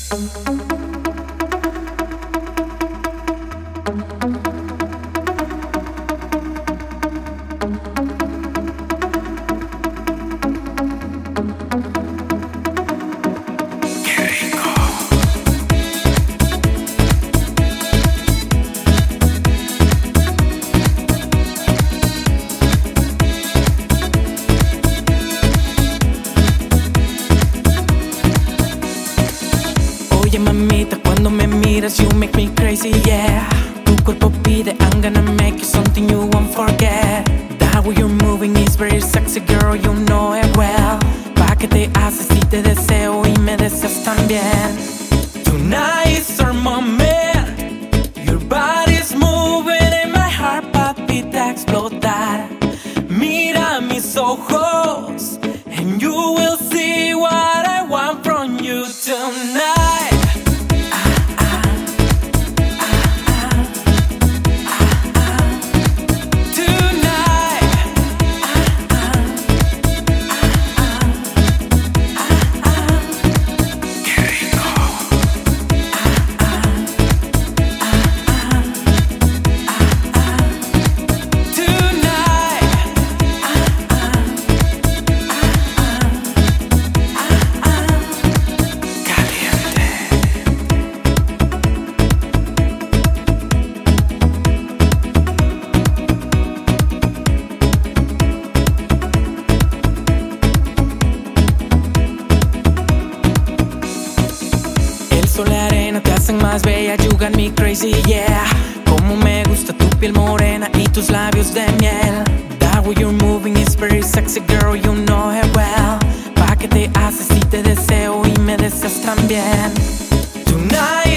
Oye mamita, cuando me miras you make me crazy, yeah. Tu cuerpo pide, I'm gonna make you something you won't forget. That way you're moving is very sexy, girl, you know it well. Pa' que te haces si te deseo y me deseas también. Tonight is our moment. Your body's moving and my heart palpita explotar. Mira mis ojos and you will see what I want from you tonight. La arena te hacen más bella, you got me crazy, yeah. Como me gusta tu piel morena y tus labios de miel. That way you're moving is very sexy, girl, you know it well. Pa' que te haces si te deseo y me deseas también. Tonight